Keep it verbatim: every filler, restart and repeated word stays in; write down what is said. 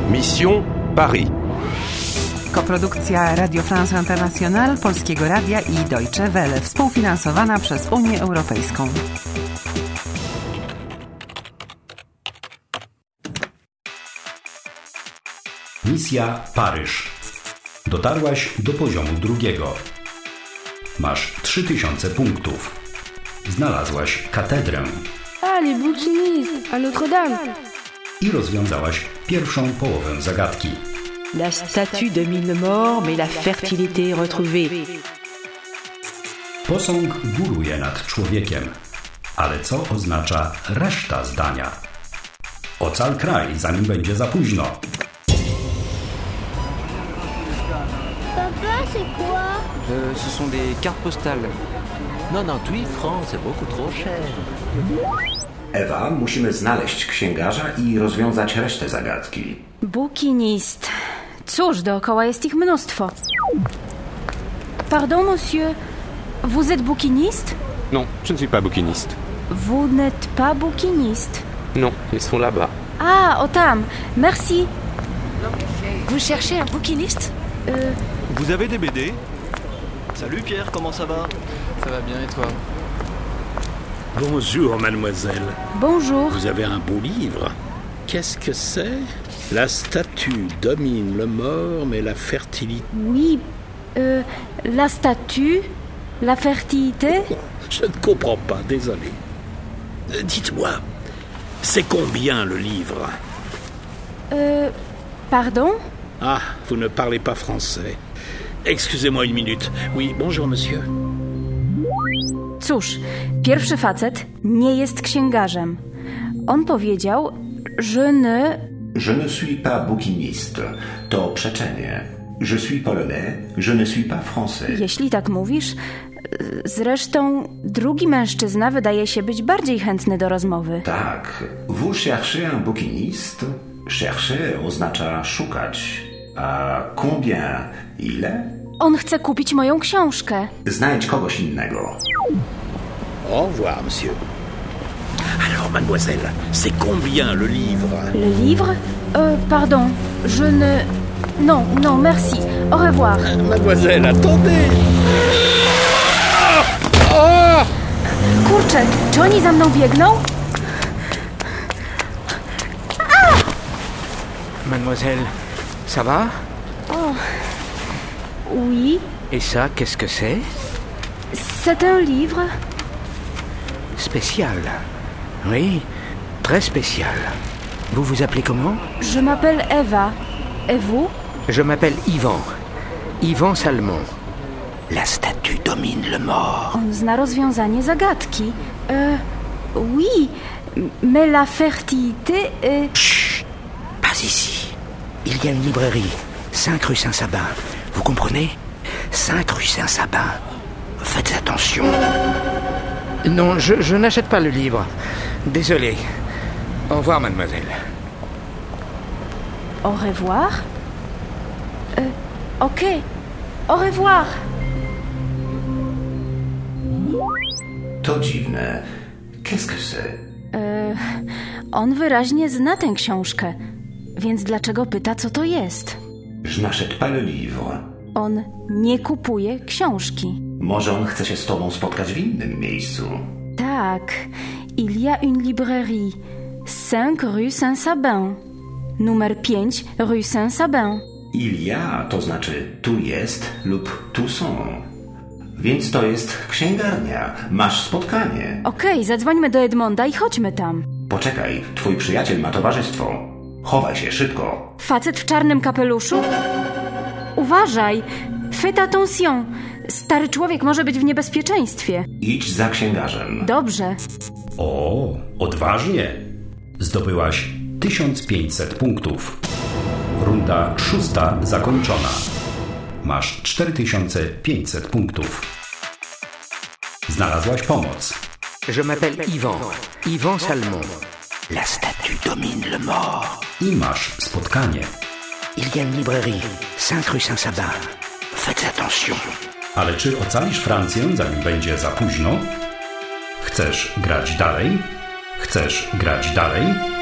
Mission Paris. Koprodukcja Radio France International, Polskiego Radia i Deutsche Welle, współfinansowana przez Unię Europejską. Misja Paryż. Dotarłaś do poziomu drugiego. Masz trzy tysiące punktów. Znalazłaś katedrę. Ah, les bouquinistes, à Notre-Dame. I rozwiązałaś pierwszą połowę zagadki. La statue domine le mort, mais la fertilité est retrouvée. Posąg góruje nad człowiekiem. Ale co oznacza reszta zdania? Ocal kraj, zanim będzie za późno. Papa, c'est quoi? Euh, ce sont des cartes postales. quatre-vingt-dix francs, c'est beaucoup trop cher. Ewa, musimy znaleźć księgarza i rozwiązać resztę zagadki. Bouquiniste. Cóż, dookoła jest ich mnóstwo. Pardon, monsieur. Vous êtes bouquiniste? Non, je ne suis pas bouquiniste. Vous n'êtes pas bouquiniste? Non, ils sont là-bas. Ah, au tam. Merci. Vous cherchez un bouquiniste? Euh... Vous avez des B D? Salut Pierre, comment ça va? Ça va bien et toi? Bonjour mademoiselle. Bonjour. Vous avez un beau livre. Qu'est-ce que c'est? La statue domine le mort, mais la fertilité... Oui, euh, la statue, la fertilité... Je ne comprends pas, désolé. Euh, dites-moi, c'est combien le livre? Euh, pardon? Ah, vous ne parlez pas français. Excusez-moi une minute. Oui, bonjour monsieur. Cóż, pierwszy facet nie jest księgarzem. On powiedział, je ne... Je ne suis pas bouquiniste. To przeczenie. Je suis polonais, je ne suis pas français. Jeśli tak mówisz... Zresztą drugi mężczyzna wydaje się być bardziej chętny do rozmowy. Tak. Vous cherchez un bouquiniste? Chercher oznacza szukać. A combien? Ile? On chce kupić moją książkę. Znajdź kogoś innego. Au revoir, monsieur. Alors, mademoiselle, c'est combien le livre? Le livre? Euh, pardon, je ne... Non, non, merci. Au revoir. Mademoiselle, attendez! Kurczę, czy oni za mną biegną? Mademoiselle, ça va? Oh. Oui. Et ça, qu'est-ce que c'est? C'est un livre. Spécial. Oui, très spécial. Vous vous appelez comment? Je m'appelle Eva. Et vous? Je m'appelle Yvan. Yvan Salmon. La statue domine le mort. On zna rozwiązanie zagadki. Euh, oui, mais la fertilité est... Chut, pas ici. Il y a une librairie, cinq rue Saint-Sabin. Vous comprenez? cinq rue Saint-Sabin. Faites attention. Non, je, je n'achète pas le livre. Désolé. Au revoir, mademoiselle. Au revoir? Euh, ok. Au revoir. To dziwne. Qu'est-ce que c'est? E, on wyraźnie zna tę książkę, więc dlaczego pyta, co to jest? Je n'achète pas le livre. On nie kupuje książki. Może on chce się z tobą spotkać w innym miejscu. Tak. Il y a une librairie. cinq rue Saint-Sabin. Numer pięć rue Saint-Sabin. Il y a, to znaczy tu jest lub tu są. Więc to jest księgarnia. Masz spotkanie. Okej, okay, zadzwońmy do Edmonda i chodźmy tam. Poczekaj, twój przyjaciel ma towarzystwo. Chowaj się, szybko. Facet w czarnym kapeluszu? Uważaj! Faites attention! Stary człowiek może być w niebezpieczeństwie. Idź za księgarzem. Dobrze. O, odważnie. Zdobyłaś tysiąc pięćset punktów. Runda szósta zakończona. Masz cztery tysiące pięćset punktów. Znalazłaś pomoc. Je m'appelle Yvan. Yvan Salmon. La statue domine le mort. I masz spotkanie. Il y a une librairie. cinq rue Saint-Sabin. Faites attention. Ale czy ocalisz Francję, zanim będzie za późno? Chcesz grać dalej? Chcesz grać dalej?